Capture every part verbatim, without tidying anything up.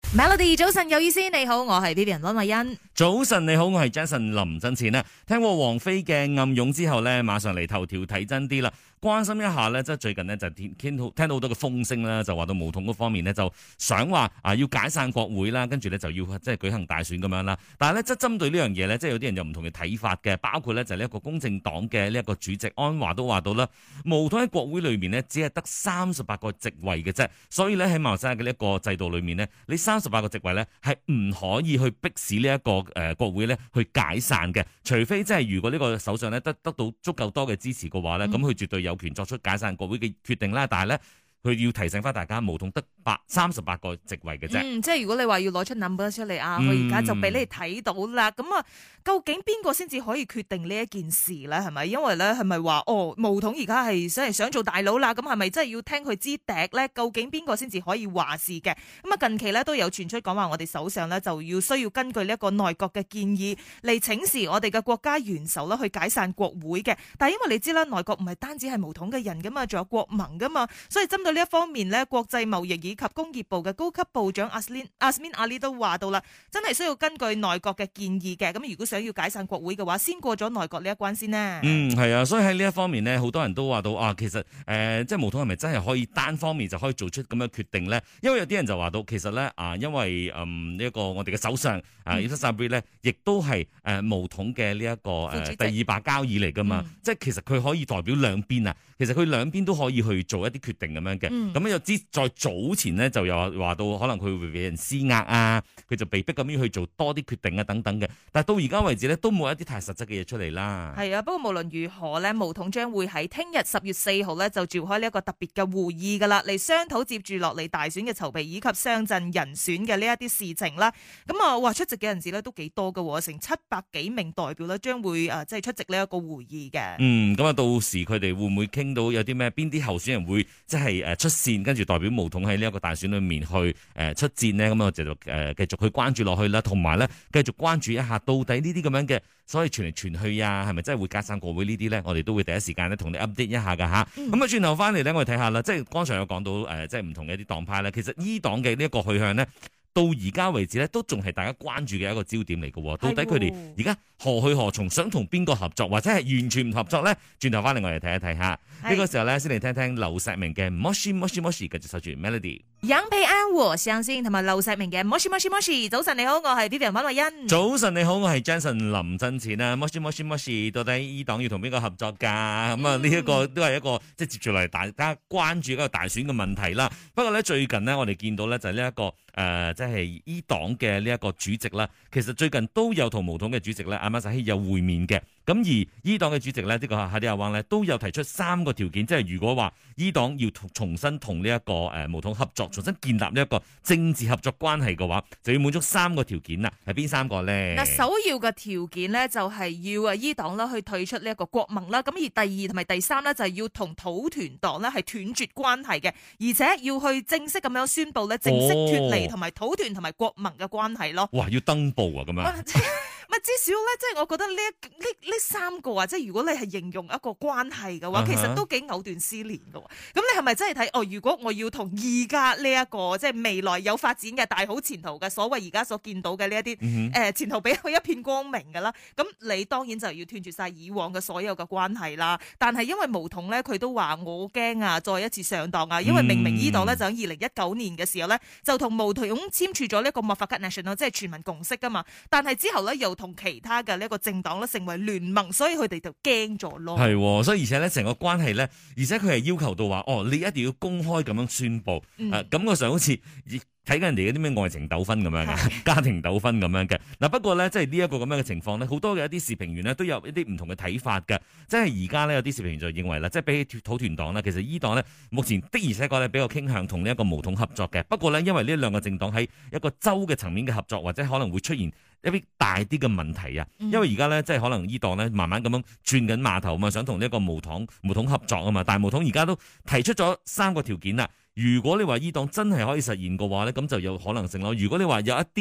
Melody 早晨有意思，你好，我係 Vivian 溫慧欣。 早晨你好，我係 Jason 林振前啊。聽過王菲嘅暗湧之後呢，馬上嚟頭條睇真啲啦。關心一下呢，即係最近呢，就聽聽到聽到好多嘅風聲啦，就話到巫統嗰方面呢，就想話啊要解散國會啦，跟住呢，就要即係舉行大選咁樣啦。但係呢，即係針對呢樣嘢呢，即係有啲人有唔同嘅睇法嘅，包括呢，就呢一個公正黨嘅呢一個主席安華都話到啦，巫統喺國會裏面呢，只係得三十八個席位嘅啫，所以呢，喺馬來西亞嘅呢一個制度裏面呢，你三十八個席位呢，係唔可以去逼使呢一個誒國會呢去解散嘅，除非即係如果呢個首相呢得得到足夠多嘅支持嘅話呢，咁佢、嗯、絕對有權作出解散國會嘅決定啦。但係咧，佢要提醒翻大家，巫統得八三十八個席位嘅啫。 嗯，即係如果你話要攞出 number 出嚟啊，佢而家就俾你睇到啦。咁啊、嗯，究竟邊個先至可以決定呢一件事咧？係咪？因為咧，係咪話哦，巫統而家係想係想做大佬啦？咁係咪真係要聽佢支笛咧？究竟邊個先至可以話事嘅？咁啊，近期咧都有傳出講話，我哋首相咧就要需要根據呢一個內閣嘅建議嚟請示我哋嘅國家元首啦，去解散國會嘅。但係因為你知啦，內閣唔係單止係巫統嘅人噶嘛，仲有國盟噶嘛，所以針對呢一方面咧，國際貿易以及工業部嘅高級部長阿斯林阿斯敏阿里都話到啦，真係需要根據內閣嘅建議嘅。咁如果想要解散國會嘅話，先過咗內閣呢一關先呢。 嗯，係啊，所以喺呢一方面呢，好多人都話到啊，其實誒、呃，即係巫統係咪真係可以單方面就可以做出咁嘅決定呢？因為有啲人就話到，其實咧啊，因為嗯呢一個我哋嘅首相啊伊莎莎貝咧，亦都係誒巫統嘅呢一個誒、呃、第二把交椅嚟噶嘛，嗯、即係其實佢可以代表兩邊啊，其實佢兩邊都可以去做一啲決定咁樣嘅。咁、嗯、又知在早前呢，就有話到可能佢會俾人施壓啊，佢就被逼咁樣去做多啲決定啊等等嘅。但係到而家為止呢，都冇一啲太實質嘅嘢出嚟啦。係啊，不過無論如何呢，巫統將會喺聽日十月四號呢，就召開呢一個特別嘅會議噶啦，嚟商討接住落嚟大選嘅籌備以及上陣人選嘅呢一啲事情啦。咁啊，哇，出席嘅人士呢都幾多噶，成七百幾名代表呢將會誒即係出席呢一個會議嘅。 嗯，咁啊，到時佢哋會唔會傾到有啲咩？邊啲候選人會即係誒出線，跟住代表巫統喺呢一個大選裏面去誒出戰呢？咁啊，就誒繼續去關注落去啦，同埋咧繼續關注一下到底呢啲咁樣嘅所謂傳嚟傳去啊，係咪真係會解散國會呢啲咧？我哋都會第一時間咧同你 update 一下噶吓。咁啊，轉頭翻嚟咧，我哋睇下啦，即係剛才有講到誒，即係唔同嘅一啲黨派咧，其實伊黨嘅呢一個去向呢，到而家為止咧，都仲係大家關注嘅一個焦點嚟嘅。到底佢哋而家何去何從，想同邊個合作，或者係完全唔合作咧？轉頭翻嚟我哋睇一睇下。呢個時候咧，先嚟聽聽劉錫明嘅 Moshi Moshi Moshi，繼續守住 Melody。 楊培安和相先同埋劉錫明嘅 Moshi Moshi Moshi。早晨你好，我係 Vivian 溫慧欣。 早晨你好，我係 Jason 林振前啊。Moshi Moshi Moshi，到底伊黨要同邊個合作噶？咁啊呢一個都係一個即係接住嚟大家關注一個大選嘅問題啦。不過咧最近呢，我哋見到咧就係呢一個誒、呃、即係伊黨嘅呢一個主席啦。其實最近都有同巫統嘅主席咧阿馬薩希有會面嘅。咁而伊黨嘅主席咧，呢、這個哈迪亞旺咧，都有提出三個條件，即係如果話伊黨要重新同呢一個誒巫統合作，重新建立呢一個政治合作關係嘅話，就要滿足三個條件啦。係邊三個咧？ 嗱，首要嘅條件咧就係要啊伊黨啦去退出呢一個國盟啦。咁而第二同埋第三咧就係要同土團黨咧係斷絕關係嘅，而且要去正式咁樣宣布咧正式脫離同埋土團同埋國盟嘅關係咯。 哇！要登報啊咁樣。 咪至少咧，即係我覺得呢一呢呢三個啊，即係如果你係形容一個關係嘅話，uh huh. 其實都幾藕斷絲連嘅。咁你係咪真係睇哦？如果我要同而家呢一個即係未來有發展嘅大好前途嘅所謂而家所見到嘅呢一啲誒前途比較一片光明嘅啦，咁你當然就要斷絕晒以往嘅所有嘅關係啦。但係因為巫統咧，佢都話我驚啊，再一次上當啊，因為明明伊黨咧就喺二零一九年嘅時候咧，就同巫統簽署咗呢一個 Mufakat Nasional 即係全民共識噶嘛。但係之後咧又同其他嘅呢一個政黨咧成為聯盟，所以佢哋就驚咗咯。 係，所以而且咧成個關係咧，而且佢係要求到話，哦，你一定要公開咁樣宣佈，誒、嗯啊，感覺上好似睇緊人哋嗰啲咩愛情糾紛咁樣嘅，的家庭糾紛咁樣嘅。嗱，不過咧，即係呢一個咁樣嘅情況咧，好多嘅一啲時評員咧都有一啲唔同嘅睇法嘅。即係而家咧有啲時評員就認為啦，即係比起土團黨咧，其實伊黨咧目前的而且確咧比較傾向同呢一個巫統合作嘅。不過咧，因為呢兩個政黨喺一個州嘅層面嘅合作，或者可能會出現一啲大啲嘅問題啊。因為而家咧即係可能伊黨咧慢慢咁樣轉緊碼頭啊嘛，想同呢一個巫統巫統合作啊嘛。但係巫統而家都提出咗三個條件啦。如果你話伊黨真係可以實現嘅話咧，咁就有可能性咯。如果你話有一啲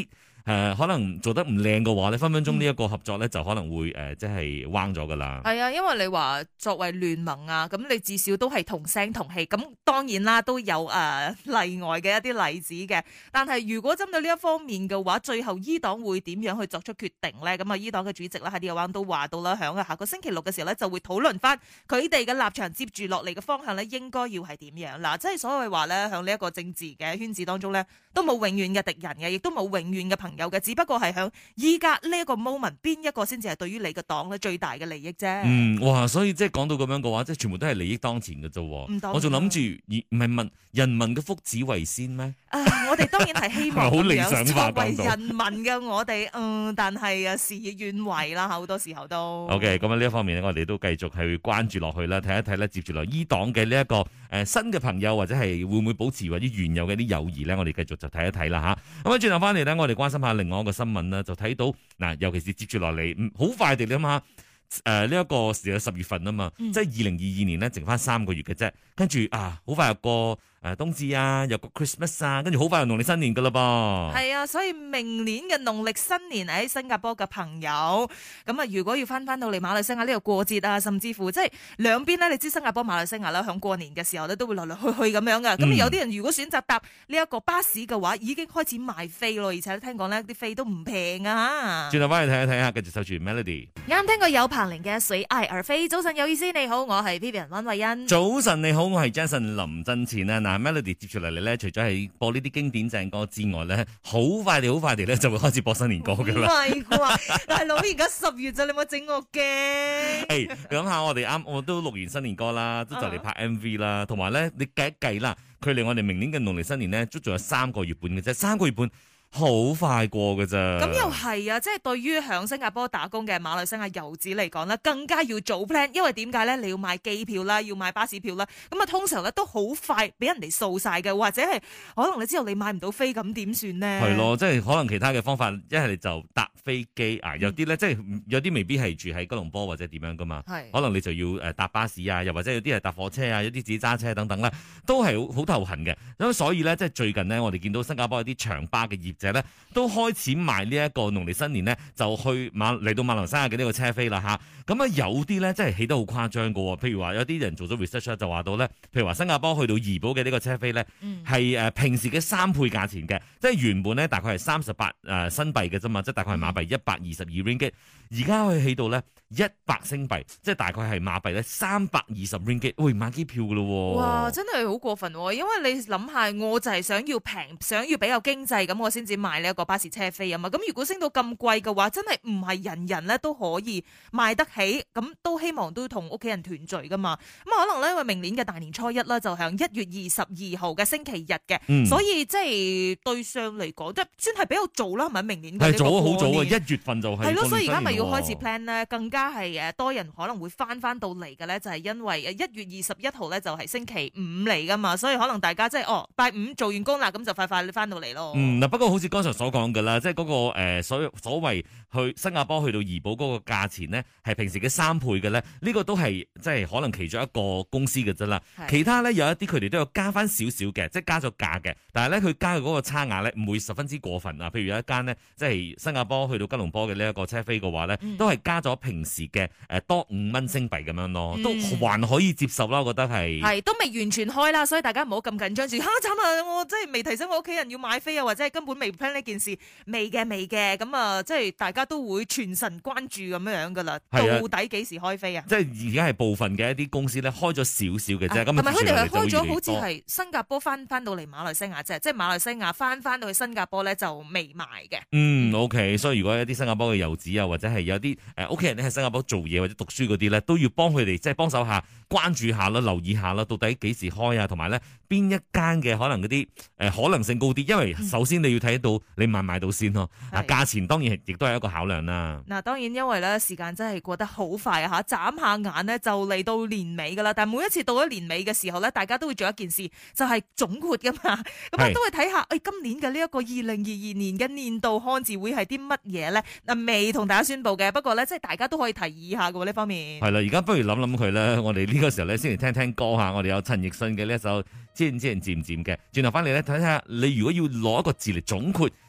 誒可能做得唔靚嘅話咧，分分鐘呢一個合作咧就可能會誒即係彎咗噶啦。 係啊，因為你話作為聯盟啊，咁你至少都係同聲同氣，咁當然啦都有誒、呃、例外嘅一啲例子嘅。但係如果針對呢一方面嘅話，最後伊黨會點樣去作出決定咧？咁啊，伊黨嘅主席啦喺呢個灣都話到啦，響下個星期六嘅時候咧就會討論翻佢哋嘅立場，接住落嚟嘅方向咧應該要係點樣嗱？即係所謂話咧，響呢一個政治嘅圈子當中咧，都冇永遠嘅敵人嘅，亦都冇永遠嘅朋友嘅，只不過係響依家呢一個 moment 邊一個先至係對於你嘅黨咧最大嘅利益啫。 嗯，哇！所以即係講到咁樣嘅話，即係全部都係利益當前嘅啫。我仲諗住唔係問人民嘅福祉為先咩？ 啊，我哋當然係希望好理想化作為人民嘅我哋，嗯，但係啊事與願違啦，好多時候都。 OK，咁呢一方面咧，我哋都繼續係關注落去啦，睇一睇咧，接住落伊黨嘅呢一個誒、呃、新嘅朋友或者係會唔會保持或者原有嘅啲友誼咧？我哋繼續就睇一睇啦吓。咁啊，轉頭翻嚟咧，我哋關心下另外一個新聞啦，就睇到嗱，尤其是接住落嚟，好快地諗下。誒呢一個時係十月份啊嘛，嗯、即係二零二二年咧，剩翻三個月嘅啫，跟住啊，好快又過誒冬至啊，又過 Christmas 啊，跟住好快又農曆新年噶啦噃。係啊，所以明年嘅農曆新年喺新加坡嘅朋友，咁啊，如果要翻翻到嚟馬來西亞呢度過節啊，甚至乎即係兩邊咧，你知新加坡、馬來西亞啦，響過年嘅時候咧，都會來來去去咁樣噶。咁、嗯、有啲人如果選擇搭呢一個巴士嘅話，已經開始賣飛咯，而且聽講咧啲飛都唔平啊。 轉頭翻嚟睇一睇下，繼續守住 Melody。 啱聽過有彭羚嘅《水愛而飛》。早晨有意思，你好，我係 Vivian 溫慧欣。 早晨你好，我係 Jason 林振前啊。嗱 Melody 接住嚟嚟咧，除咗係播呢啲經典正歌之外咧，好快地好快地咧就會開始播新年歌噶啦。唔係啩，大佬而家十月咋，你冇整我驚。誒，你諗下我哋啱，我都錄完新年歌啦，都就嚟拍 M V 啦，同埋咧你計一計啦，距離我哋明年嘅農曆新年咧，都仲有三個月半嘅啫，三個月半。好快過㗎咋？咁又係啊！即係對於響新加坡打工嘅馬來西亞遊子嚟講咧，更加要早 plan，因為點解咧？你要買機票啦，要買巴士票啦，咁啊通常咧都好快俾人哋掃晒嘅，或者係可能你知道你買唔到飛，咁點算呢？係咯，即係可能其他嘅方法，一係你就搭飛機啊，有啲咧、嗯、即係有啲未必係住喺吉隆坡或者點樣噶嘛，係可能你就要誒搭巴士啊，又或者有啲係搭火車啊，有啲自己揸車等等啦，都係好好頭痕嘅。咁所以咧，即係最近呢，我哋見到新加坡有啲長巴嘅業者咧都開始賣呢一個農曆新年咧，就去馬嚟到馬來西亞嘅呢個車飛啦吓。咁啊有啲咧，真係起得好誇張噶。譬如話有啲人做咗 research 就話到咧，譬如話新加坡去到怡保嘅呢個車飛咧，係誒、嗯、平時嘅三倍價錢嘅，即係原本咧大概係三十八誒新幣嘅啫嘛，即係大概係馬幣一百二十二 ringgit，而家可以起到咧一百星幣，即係大概係馬幣咧三百二十 ringgit，喂買機票噶咯。 哇，真係好過分，因為你諗下，我就係想要平，想要比較經濟，咁我先至買呢一個巴士車飛啊嘛。咁如果升到咁貴嘅話，真係唔係人人咧都可以買得起，咁都希望都同屋企人團聚噶嘛。咁可能咧，因為明年嘅大年初一啦，就響一月二十二號嘅星期日嘅，嗯、所以即係對上嚟講，即係算係比較早啦，係咪？明年係早好早啊，一月份就係。 係咯，所以而家咪要開始 plan 咧，更加係誒多人可能會翻翻到嚟嘅咧，就係因為誒一月二十一號咧就係星期五嚟噶嘛，所以可能大家即係哦拜五做完工啦，咁就快快翻到嚟咯。 嗯，嗱不過好似剛才所講嘅啦，即係嗰個誒所所謂去新加坡去到怡保嗰個價錢呢，係平時嘅三倍嘅咧，呢個都係即係可能其中一個公司嘅啫啦。其他咧有一啲佢哋都有加翻少少嘅，即係加咗價嘅，但係咧佢加嘅嗰個差額咧唔會十分之過分啊。譬如有一間呢，即係新加坡去到吉隆坡嘅呢一個車飛嘅話咧，嗯、都係加咗平時嘅誒多五蚊星幣咁樣咯，嗯、都還可以接受啦，我覺得係。係都未完全開啦，所以大家唔好咁緊張住。嚇慘啊！我真係未提醒我屋企人要買飛啊，或者係根本未 plan 呢件事，未嘅未嘅，咁啊，即係大家都會全神關注咁樣樣噶啦。到底幾時開飛啊？即係而家係部分嘅一啲公司咧開咗少少嘅啫，咁同埋佢哋係開咗，好似係新加坡翻翻到嚟馬來西亞啫，即係馬來西亞翻翻到去新加坡咧就未賣嘅。嗯 ，OK，所以如果有啲新加坡嘅遊子啊，或者係有啲誒屋企人咧喺新加坡做嘢或者讀書嗰啲咧，都要幫佢哋即係幫手下關注下啦，留意下啦，到底幾時開啊，同埋咧邊一間嘅可能嗰啲誒可能性高啲，因為首先你要睇到你買唔買到先咯。啊、嗯，價錢當然亦都係一個考量啦。嗱，當然因為咧時間真係過得好快啊嚇，眨下眼咧就嚟到年尾噶啦。但係每一次到咗年尾嘅時候咧，大家都會做一件事，就係、是、總括噶嘛。咁啊都會睇下，誒、哎、今年嘅呢一個二零二二年嘅年度漢字會係啲乜嘢咧？嗱，未同大家宣佈嘅，不過咧即係大家都可以提議下嘅喎呢方面。係啦，而家不如諗諗佢咧，我哋呢個時候咧先嚟聽聽歌嚇。我哋有陳奕迅嘅呢一首《知唔知人漸漸》嘅。轉頭翻嚟咧睇下，你如果要攞一個字嚟總括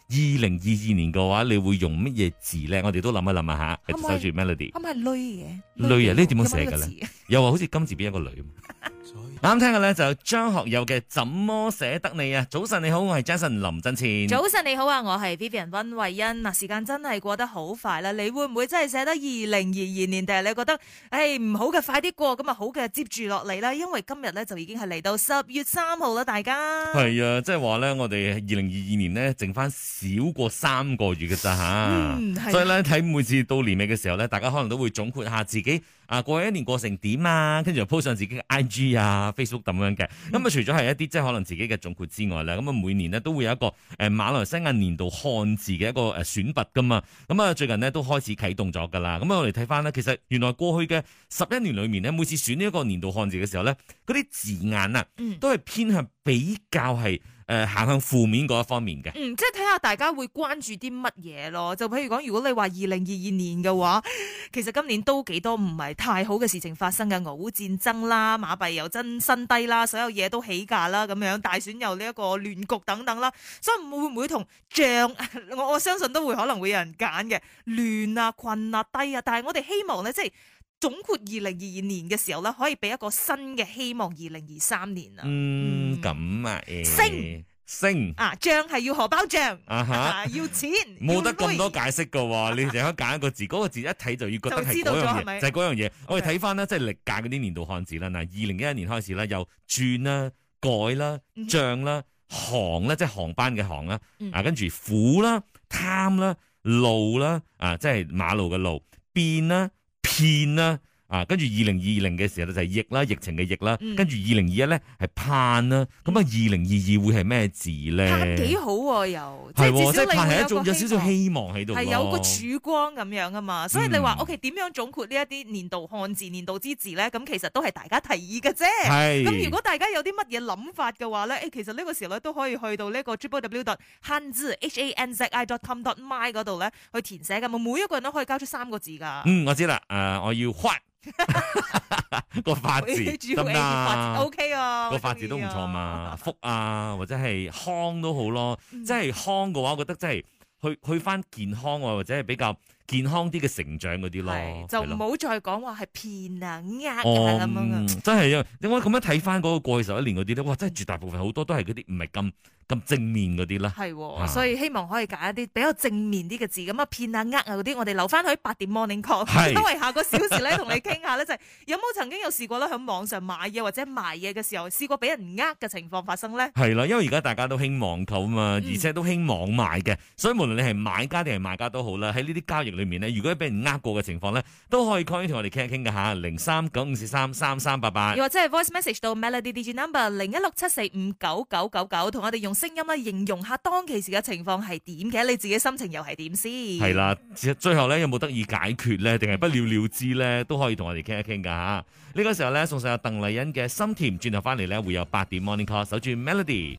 二零二二年嘅話，你會用乜嘢字咧？我哋都諗一諗啊吓， 可唔可以守住 melody。 可唔可以女嘅？ 女啊，呢點樣寫嘅有冇呢個字咧？又話好似金字邊一個女。啱聽嘅咧就張學友嘅《怎麼捨得你》啊！早晨你好，我係 Jason 林振前。 早晨你好啊，我係 Vivian 溫慧欣。嗱，時間真係過得好快啦，你會唔會真係捨得二零二二年？定係你覺得誒唔好嘅快啲過，咁啊好嘅接住落嚟啦？因為今日咧就已經係嚟到十月三號啦，大家係啊，即係話咧，我哋二零二二年呢，剩翻少過三個月嘅咋吓， 嗯、 所以咧睇每次到年尾嘅時候咧，大家可能都會總括下自己啊過去一年過成點啊，跟住又 po 上自己嘅 I G 啊、Facebook 咁樣嘅。咁、嗯、啊，除咗係一啲即係可能自己嘅總括之外咧，咁啊每年呢都會有一個誒馬來西亞年度漢字嘅一個誒選拔噶嘛。咁啊最近呢都開始啟動咗噶啦。咁啊我哋睇翻呢，其實原來過去嘅十一年裏面呢，每次選呢一個年度漢字嘅時候咧，嗰啲字眼啊，都係偏向比較係。誒行向負面嗰一方面嘅， 嗯，即係睇下大家會關注啲乜嘢咯。就譬如講，如果你話二零二二年嘅話，其實今年都幾多唔係太好嘅事情發生嘅，俄烏戰爭啦，馬幣又真新低啦，所有嘢都起價啦，咁樣大選又呢一個亂局等等啦，所以會唔會同漲？我我相信都會可能會有人揀嘅亂啊、困啊、低啊，但係我哋希望咧，即係。總括二零二二年嘅時候咧，可以俾一個新嘅希望。二零二三年啊， 嗯，咁啊，誒， 升升啊，漲係要荷包漲啊哈啊，要錢， 冇得咁多解釋噶喎，你淨係揀一個字，嗰個字一睇就要覺得係嗰樣嘢，就係嗰樣嘢。我哋睇翻咧，即係歷屆嗰啲年度漢字啦。嗱，二零一一年開始咧，有轉啦、改啦、漲啦、航啦，即係航班嘅航啦，啊，跟住苦啦、貪啦、路啦，啊，即係馬路嘅路，變啦。騙啦，啊，跟住二零二零嘅時候咧就係疫啦，疫情嘅疫啦，嗯、跟住二零二一咧係盼啦，咁啊二零二二會係咩字咧？盼幾好喎、啊，又係即係盼係一種有少少希望喺度， 係有個曙光咁樣啊嘛，所以你話、嗯、OK 點樣總括呢一啲年度漢字、年度之字咧？咁其實都係大家提議嘅啫。係咁，如果大家有啲乜嘢諗法嘅話咧，誒，其實呢個時候咧都可以去到呢個 w w w dot hanzi h a n z i dot com dot my 嗰度咧去填寫噶嘛，每一個人都可以交出三個字噶。 嗯，我知啦，誒、呃，我要發。個發字得啦 ，OK 啊， 個發字都唔錯嘛，福啊或者係康都好咯，嗯、即係康嘅話，我覺得真係去去翻健康啊，或者係比較健康啲嘅成長嗰啲咯， 就唔好再講話係騙啊、呃啊咁樣啊， 真係啊！你我咁樣睇翻嗰個過去十一年嗰啲咧，哇，真係絕大部分好多都係嗰啲唔係咁。咁正面嗰啲啦， 係、哦，啊、所以希望可以揀一啲比較正面啲嘅字，咁啊騙啊呃啊嗰啲，我哋留翻去八點 morning call，是因為下個小時咧同你傾下咧，就係有冇曾經有試過咧喺網上買嘢或者賣嘢嘅時候，試過俾人呃嘅情況發生咧？係啦，因為而家大家都興網購啊嘛，而且都興網賣嘅，嗯、所以無論你係買家定係賣家都好啦，喺呢啲交易裏面咧，如果俾人呃過嘅情況咧，都可以 call 同我哋傾一傾嘅嚇，零三九五四三三三八八， 又或者係 voice message 到 Melody D J number 零一六七四五九九九九，同我哋用聲音咧形容下當其時嘅情況係點嘅，你自己心情又係點先？係啦，最後咧有冇得以解決咧，定係不了了之咧，都可以同我哋傾一傾噶吓。呢、這個時候咧送上有鄧麗欣嘅心甜，轉頭翻嚟咧會有八點 Morning Call，守住 Melody。